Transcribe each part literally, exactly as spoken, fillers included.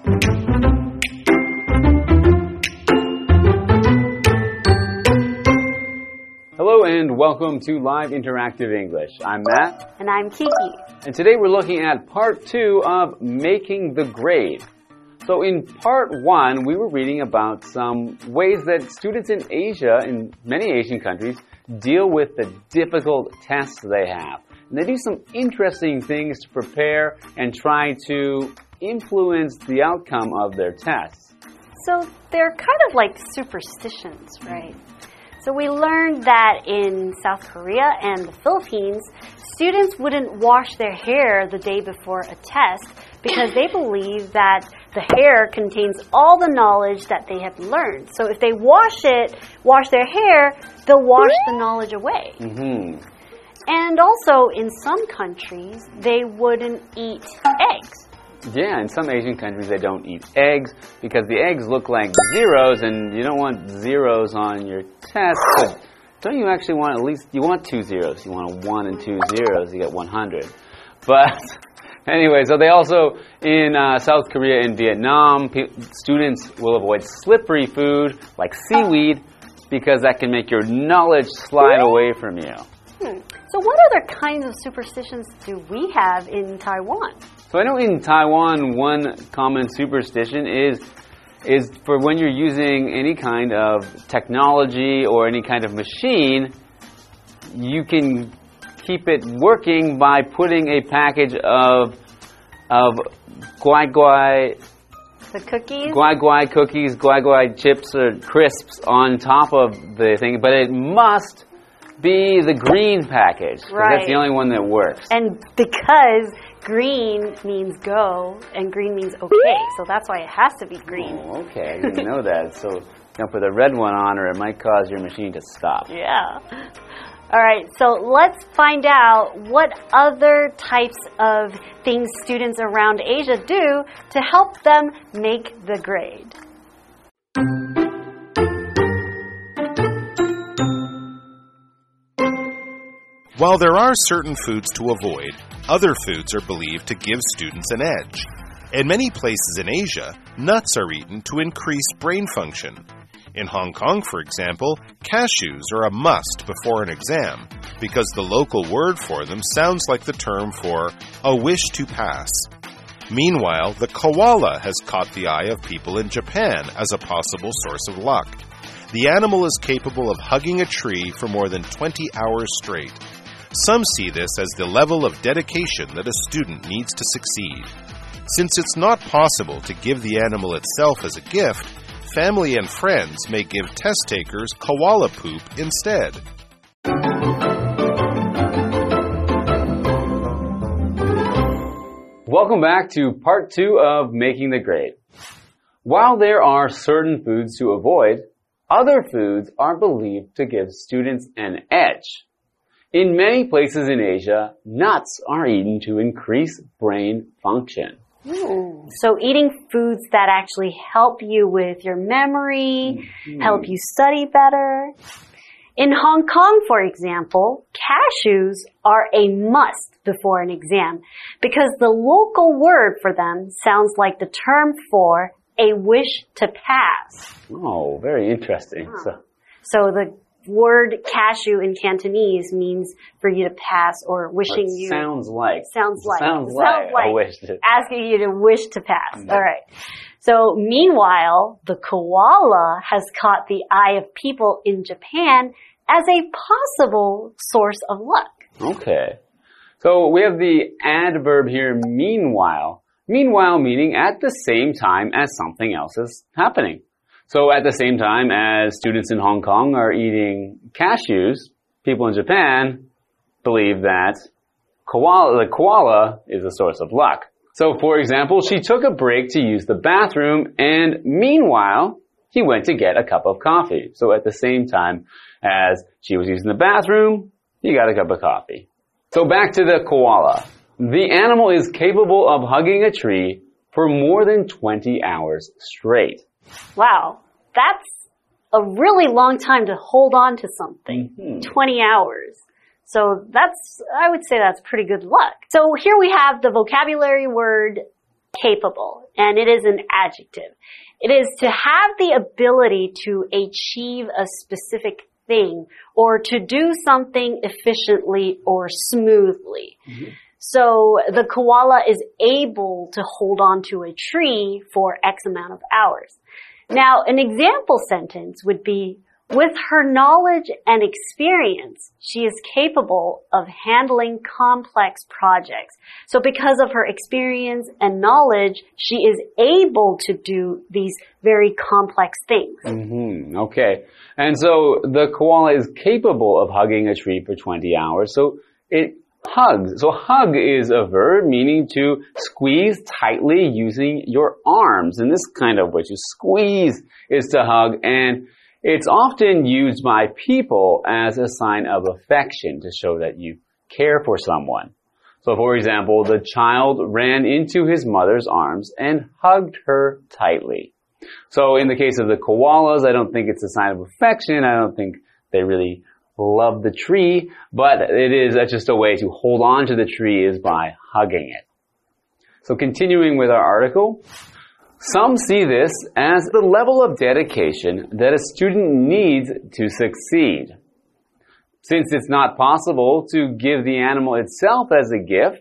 Hello and welcome to Live Interactive English. I'm Matt. And I'm Kiki. And today we're looking at part two of Making the Grade. So in part one, we were reading about some ways that students in Asia, in many Asian countries, deal with the difficult tests they have. And they do some interesting things to prepare and try to influence the outcome of their tests. So they're kind of like superstitions, right? So we learned that in South Korea and the Philippines, students wouldn't wash their hair the day before a test because they believe that the hair contains all the knowledge that they have learned. So if they wash it, wash their hair, they'll wash the knowledge away. Mm-hmm. And also, in some countries, they wouldn't eat eggs. Yeah, in some Asian countries they don't eat eggs because the eggs look like zeros and you don't want zeros on your test. But don't you actually want at least, you want two zeros. You want a one and two zeros, you get one hundred. But anyway, so they also, in uh, South Korea and Vietnam, students will avoid slippery food like seaweed because that can make your knowledge slide away from you. Hmm. So what other kinds of superstitions do we have in Taiwan? So I know in Taiwan, one common superstition is is for when you're using any kind of technology or any kind of machine, you can keep it working by putting a package of of guai guai The cookies? guai guai cookies, guai guai chips or crisps on top of the thing, but it must be the green package. Right. That's the only one that works. And because green means go and green means okay, so that's why it has to be green. Oh, okay, I didn't know that. So don't put the red one on or it might cause your machine to stop. Yeah. All right, so let's find out what other types of things students around Asia do to help them make the grade. While there are certain foods to avoid, other foods are believed to give students an edge. In many places in Asia, nuts are eaten to increase brain function. In Hong Kong, for example, cashews are a must before an exam because the local word for them sounds like the term for a wish to pass. Meanwhile, the koala has caught the eye of people in Japan as a possible source of luck. The animal is capable of hugging a tree for more than twenty hours straight. Some see this as the level of dedication that a student needs to succeed. Since it's not possible to give the animal itself as a gift, family and friends may give test takers koala poop instead. Welcome back to part two of Making the Grade. While there are certain foods to avoid, other foods are believed to give students an edge. In many places in Asia, nuts are eaten to increase brain function. Ooh. So eating foods that actually help you with your memory, mm-hmm. help you study better. In Hong Kong, for example, cashews are a must before an exam because the local word for them sounds like the term for a wish to pass. Oh, very interesting. Oh. So, so the word cashew in Cantonese means for you to pass or wishing it you. Sounds like. Sounds like. Sounds, sounds like. like a wish to. Asking you to wish to pass. Mm-hmm. All right. So meanwhile, the koala has caught the eye of people in Japan as a possible source of luck. Okay. So we have the adverb here, meanwhile. Meanwhile meaning at the same time as something else is happening. So at the same time as students in Hong Kong are eating cashews, people in Japan believe that koala, the koala is a source of luck. So for example, she took a break to use the bathroom and meanwhile, he went to get a cup of coffee. So at the same time as she was using the bathroom, he got a cup of coffee. So back to the koala. The animal is capable of hugging a tree for more than twenty hours straight. Wow, that's a really long time to hold on to something. Mm-hmm. twenty hours. So that's, I would say that's pretty good luck. So here we have the vocabulary word capable, and it is an adjective. It is to have the ability to achieve a specific thing or to do something efficiently or smoothly. Mm-hmm. So the koala is able to hold on to a tree for X amount of hours. Now, an example sentence would be, with her knowledge and experience, she is capable of handling complex projects. So because of her experience and knowledge, she is able to do these very complex things. Mm-hmm. Okay. And so the koala is capable of hugging a tree for twenty hours. So it hugs. So hug is a verb meaning to squeeze tightly using your arms. And this kind of way to squeeze is to hug, and it's often used by people as a sign of affection to show that you care for someone. So for example, the child ran into his mother's arms and hugged her tightly. So in the case of the koalas, I don't think it's a sign of affection. I don't think they really love the tree, but it is just a way to hold on to the tree is by hugging it. So continuing with our article, some see this as the level of dedication that a student needs to succeed. Since it's not possible to give the animal itself as a gift,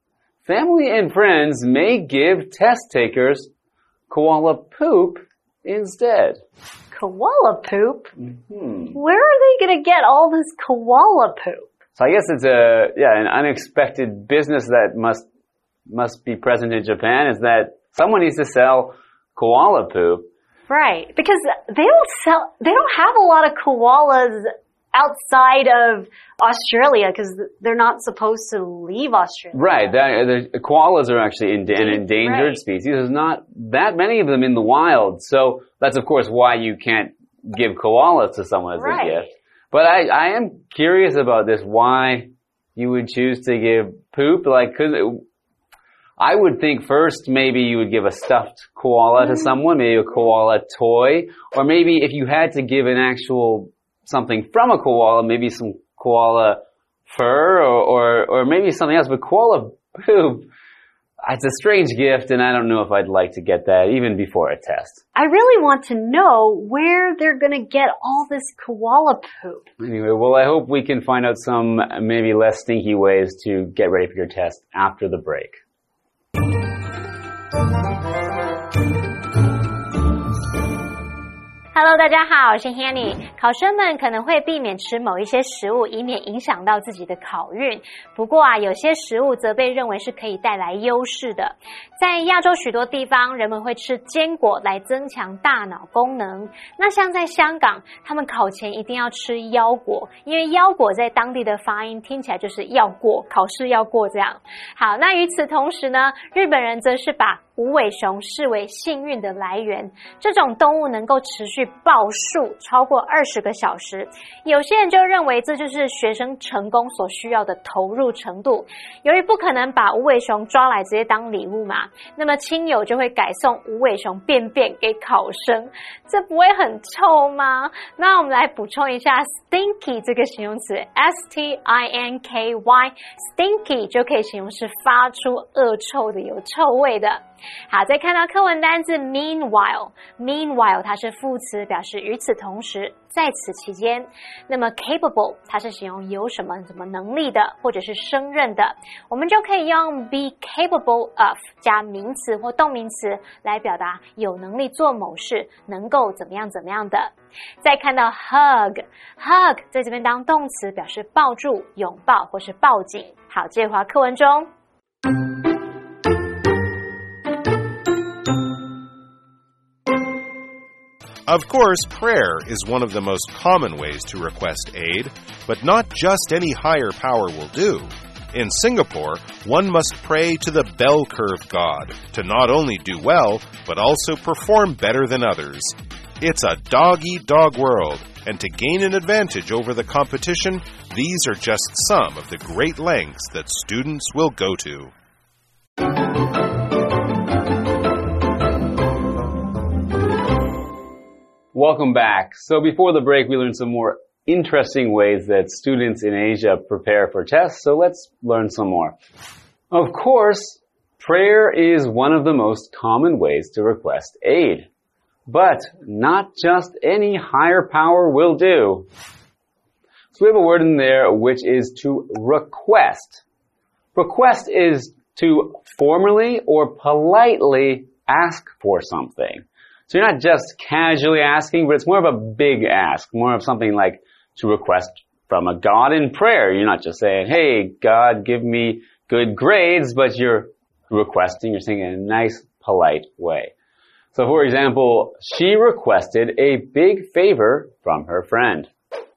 family and friends may give test takers koala poop instead. Koala poop? Mm-hmm. Where are they going to get all this koala poop? So I guess it's a yeah an unexpected business that must must be present in Japan, is that someone needs to sell koala poop. Right, because they don't sell, they don't have a lot of koalas outside of Australia because they're not supposed to leave Australia. Right, that, the koalas are actually in, an endangered right. species. There's not that many of them in the wild, so that's of course why you can't give koalas to someone as right. a gift. But I, I am curious about this, why you would choose to give poop, like, cause it, I would think first maybe you would give a stuffed koala to someone, maybe a koala toy, or maybe if you had to give an actual something from a koala, maybe some koala fur or, or, or maybe something else. But koala poop, it's a strange gift, and I don't know if I'd like to get that even before a test. I really want to know where they're going to get all this koala poop. Anyway, well, I hope we can find out some maybe less stinky ways to get ready for your test after the break. Hello， 大家好，我是 Hanny。考生们可能会避免吃某一些食物，以免影響到自己的考運。不過啊，有些食物則被認為是可以帶來優勢的。在亞洲許多地方，人們會吃堅果來增強大腦功能。那像在香港，他們考前一定要吃腰果，因為腰果在當地的發音聽起來就是要過，考試要過這樣。好，那與此同時呢，日本人則是把無尾熊視為幸運的來源，這種動物能夠持續抱樹超過二十個小時。有些人就認為這就是學生成功所需要的投入程度。由於不可能把無尾熊抓來直接當禮物嘛，那麼親友就會改送無尾熊便便給考生，這不會很臭嗎？那我們來補充一下 stinky 這個形容詞 S T I N K Y stinky 就可以形容是發出惡臭的，有臭味的。好，再看到課文單字 meanwhile meanwhile 它是副詞，表示與此同時，在此期間。那麼 capable 它是形容有什麼什麼能力的，或者是勝任的，我們就可以用 be capable of 加名詞或動名詞來表達有能力做某事，能夠怎麼樣怎麼樣的。再看到 hug hug 在這邊當動詞，表示抱住、擁抱或是抱緊。好，接着回到課文中。 Of course, prayer is one of the most common ways to request aid, but not just any higher power will do. In Singapore, one must pray to the bell curve god to not only do well, but also perform better than others. It's a dog-eat-dog world, and to gain an advantage over the competition, these are just some of the great lengths that students will go to. Welcome back. So before the break, we learned some more interesting ways that students in Asia prepare for tests. So let's learn some more. Of course, Prayer is one of the most common ways to request aid. But not just any higher power will do. So we have a word in there which is to request. Request is to formally or politely ask for something. So you're not just casually asking, but it's more of a big ask, more of something like to request from a God in prayer. You're not just saying, hey, God, give me good grades, but you're requesting, you're saying it in a nice, polite way. So, for example, she requested a big favor from her friend.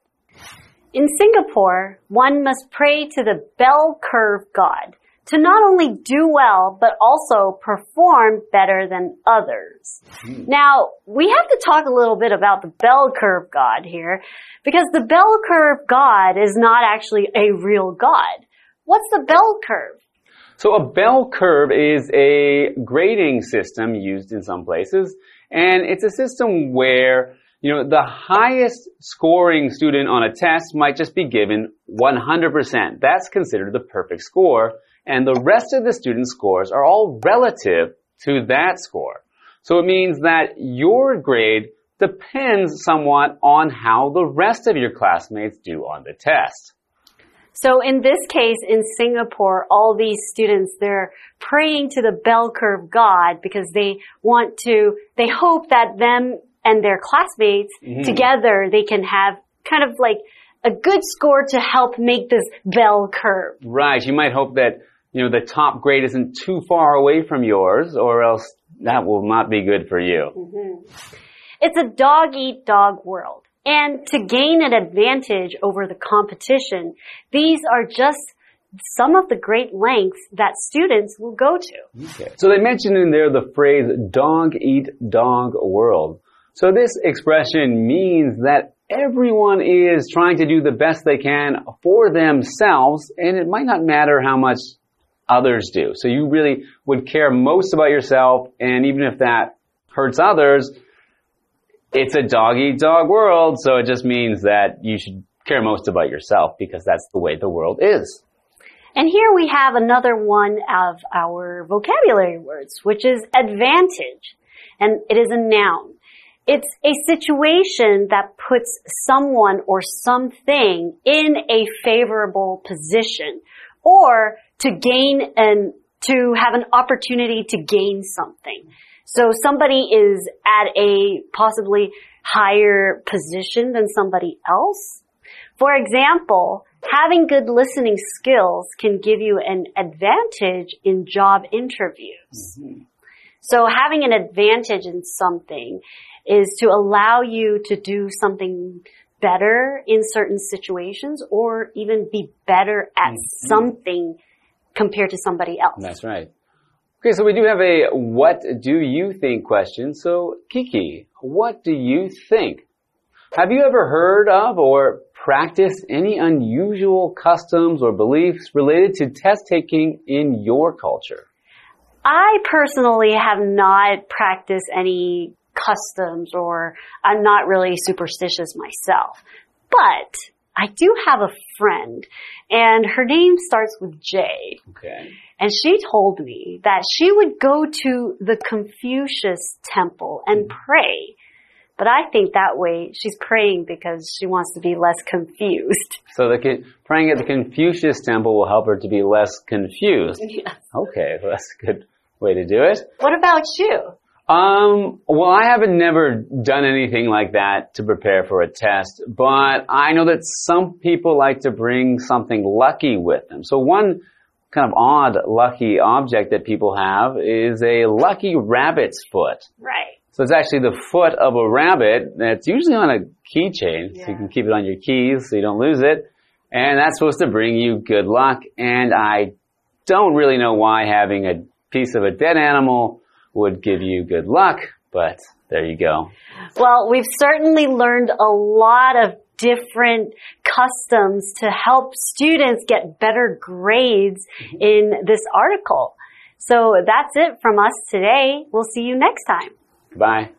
In Singapore, one must pray to the bell curve God to not only do well, but also perform better than others. Mm. Now, we have to talk a little bit about the bell curve God here, because the bell curve God is not actually a real God. What's the bell curve? So a bell curve is a grading system used in some places, and it's a system where, you know, the highest scoring student on a test might just be given one hundred percent. That's considered the perfect score, and the rest of the students' scores are all relative to that score. So it means that your grade depends somewhat on how the rest of your classmates do on the test. So in this case, in Singapore, all these students, they're praying to the bell curve God because they want to, they hope that them and their classmates mm-hmm. together, they can have kind of like a good score to help make this bell curve. Right. You might hope that, you know, the top grade isn't too far away from yours, or else that will not be good for you. Mm-hmm. It's a dog-eat-dog world. And to gain an advantage over the competition, these are just some of the great lengths that students will go to. Okay. So they mentioned in there the phrase dog-eat-dog world. So this expression means that everyone is trying to do the best they can for themselves, and it might not matter how much others do. So you really would care most about yourself, and even if that hurts others, it's a dog-eat-dog world, so it just means that you should care most about yourself because that's the way the world is. And here we have another one of our vocabulary words, which is advantage. And it is a noun. It's a situation that puts someone or something in a favorable position, or to gain and to have an opportunity to gain something. So somebody is at a possibly higher position than somebody else. For example, having good listening skills can give you an advantage in job interviews. Mm-hmm. So having an advantage in something is to allow you to do something better in certain situations, or even be better at mm-hmm. something compared to somebody else. That's right. Okay, so we do have a what do you think question. So, Kiki, what do you think? Have you ever heard of or practiced any unusual customs or beliefs related to test taking in your culture? I personally have not practiced any customs, or I'm not really superstitious myself. But I do have a friend, and her name starts with J. Okay. And she told me that she would go to the Confucius temple and pray. But I think that way she's praying because she wants to be less confused. So the praying at the Confucius temple will help her to be less confused. Yes. Okay, well, that's a good way to do it. What about you? Um, well, I haven't never done anything like that to prepare for a test, but I know that some people like to bring something lucky with them. So one kind of odd lucky object that people have is a lucky rabbit's foot. Right. So it's actually the foot of a rabbit that's usually on a keychain, yeah. So you can keep it on your keys so you don't lose it. And that's supposed to bring you good luck. And I don't really know why having a piece of a dead animal would give you good luck, but there you go. Well, we've certainly learned a lot of different customs to help students get better grades in this article. So that's it from us today. We'll see you next time. Bye.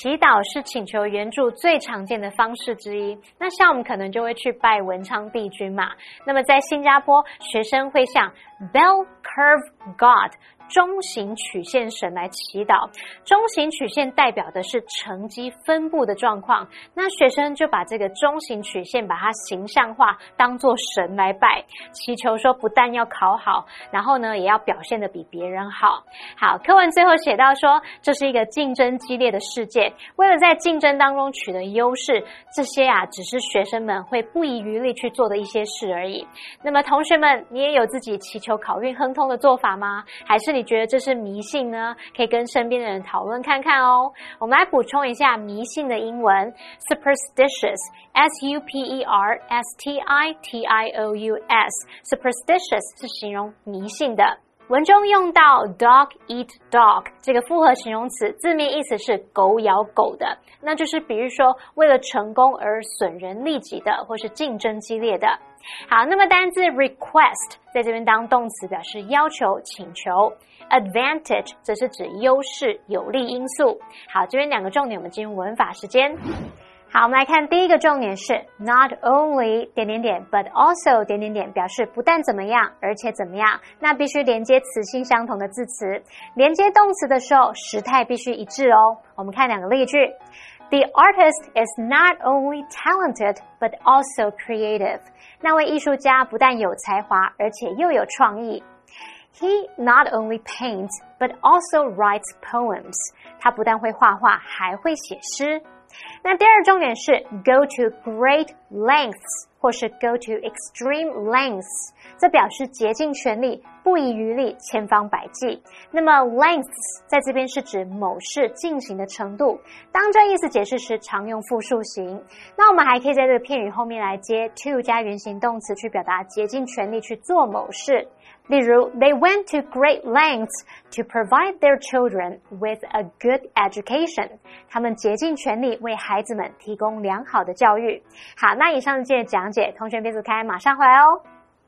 祈禱是請求援助最常見的方式之一。那像我們可能就會去拜文昌帝君嘛。那麼在新加坡，學生會向 Bell Curve God中型曲線神來祈禱，中型曲線代表的是成績分布的狀況，那學生就把這個中型曲線把它形象化，當作神來拜，祈求說不但要考好，然後呢也要表現得比別人好。好，課文最後寫到說，這是一個競爭激烈的世界，為了在競爭當中取得優勢，這些啊只是學生們會不遺餘力去做的一些事而已。那麼同學們，你也有自己祈求考運亨通的做法嗎？還是你覺得這是迷信呢？可以跟身邊的人討論看看哦。我們來補充一下迷信的英文 superstitious S U P E R S T I T I O U S superstitious 是形容迷信的。文中用到 dog eat dog 這個複合形容詞，字面意思是狗咬狗的，那就是比喻說為了成功而損人利己的，或是競爭激烈的。好，那麼單字 request 在這邊當動詞，表示要求、請求。advantage 則是指優勢、有利因素。好，這邊兩個重點，我們進入文法時間。好，我們來看第一個重點是 not only 點點點 but also 點點點，表示不但怎麼樣，而且怎麼樣。那必須連接詞性相同的字詞，連接動詞的時候時態必須一致哦。我們看兩個例句。The artist is not only talented but also creative. 那位藝術家不但有才華，而且又有創意。He not only paints but also writes poems. 他不但會畫畫，還會寫詩。那第二重點是 go to great lengths 或是 go to extreme lengths， 這表示竭盡全力，不遺餘力，千方百計。那麼 lengths 在這邊是指某事進行的程度，當這意思解釋時常用複數形。那我們還可以在這個片語後面來接 to 加原形動詞，去表達竭盡全力去做某事。例如 they went to great lengths to provide their children with a good education. 他們竭盡全力為孩子們提供良好的教育。好，那以上是今天的講解，同學別走開，馬上回來哦。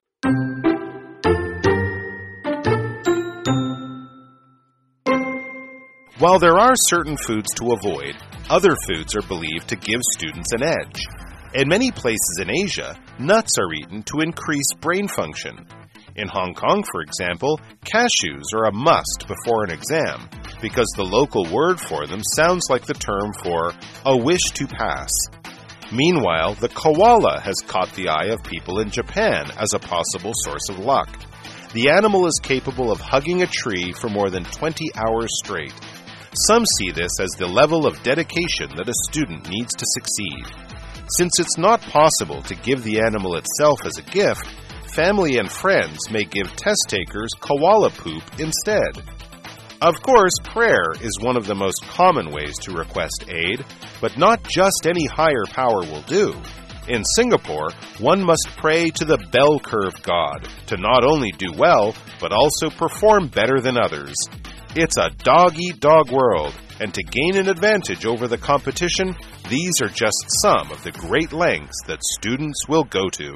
While there are certain foods to avoid, other foods are believed to give students an edge. In many places in Asia, nuts are eaten to increase brain function. In Hong Kong, for example, cashews are a must before an exam because the local word for them sounds like the term for a wish to pass. Meanwhile, the koala has caught the eye of people in Japan as a possible source of luck. The animal is capable of hugging a tree for more than twenty hours straight. Some see this as the level of dedication that a student needs to succeed. Since it's not possible to give the animal itself as a gift, family and friends may give test takers koala poop instead. Of course, prayer is one of the most common ways to request aid, but not just any higher power will do. In Singapore, one must pray to the bell curve God to not only do well, but also perform better than others. It's a dog-eat-dog world, and to gain an advantage over the competition, these are just some of the great lengths that students will go to.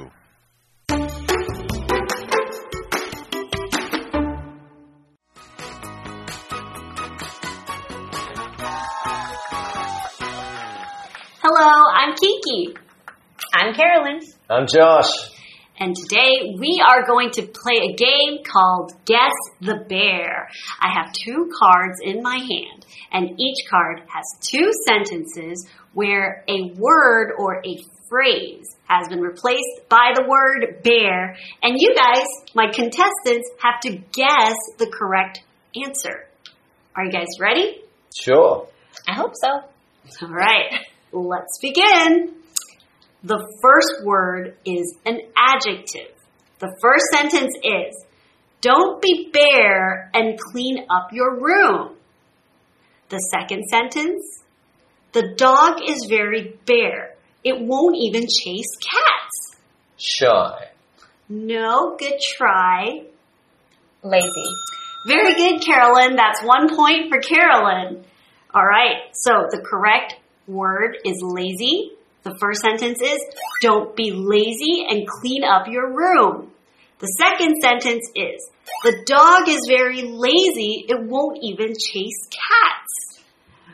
Hello, I'm Kiki. I'm Carolyn. I'm Josh. And today we are going to play a game called Guess the Bear. I have two cards in my hand, and each card has two sentences where a word or a phrase has been replaced by the word bear, and you guys, my contestants, have to guess the correct answer. Are you guys ready? Sure. I hope so. All right. Let's begin. The first word is an adjective. The first sentence is, don't be bare and clean up your room. The second sentence, the dog is very bare. It won't even chase cats. Shy. No, good try. Lazy. Very good, Carolyn. That's one point for Carolyn. All right, so the correct word is lazy. The first sentence is, don't be lazy and clean up your room. The second sentence is, the dog is very lazy. It won't even chase cats.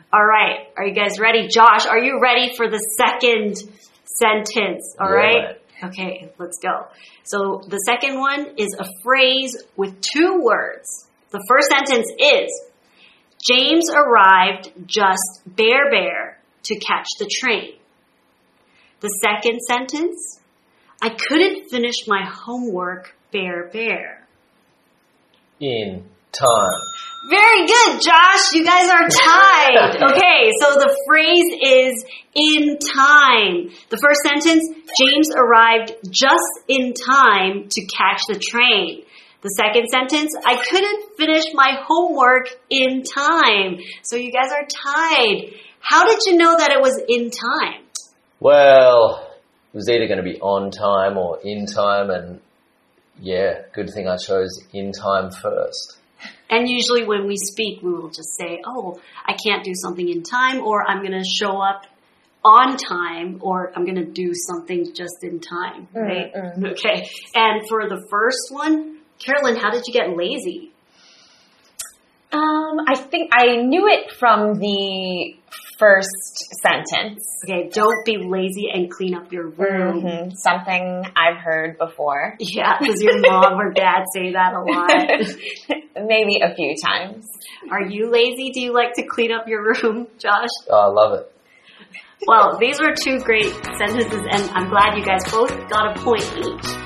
All right. Are you guys ready? Josh, are you ready for the second sentence? All Yeah. right. Okay, let's go. So the second one is a phrase with two words. The first sentence is, James arrived just bare bare to catch the train. The second sentence, I couldn't finish my homework bare bare. In time. Very good, Josh. You guys are tied. Okay, so the phrase is in time. The first sentence, James arrived just in time to catch the train. The second sentence, I couldn't finish my homework in time. So you guys are tied. How did you know that it was in time? Well, it was either going to be on time or in time, and yeah, good thing I chose in time first. And usually when we speak, we will just say, oh, I can't do something in time, or I'm going to show up on time, or I'm going to do something just in time, right? Mm-hmm. Okay. And for the first one, Carolyn, how did you get lazy? Um, I think I knew it from the first sentence. Okay, don't be lazy and clean up your room. Mm-hmm. Something I've heard before. Yeah, does your mom or dad say that a lot? Maybe a few times. Are you lazy? Do you like to clean up your room, Josh? Oh, I love it. Well, these were two great sentences, and I'm glad you guys both got a point each.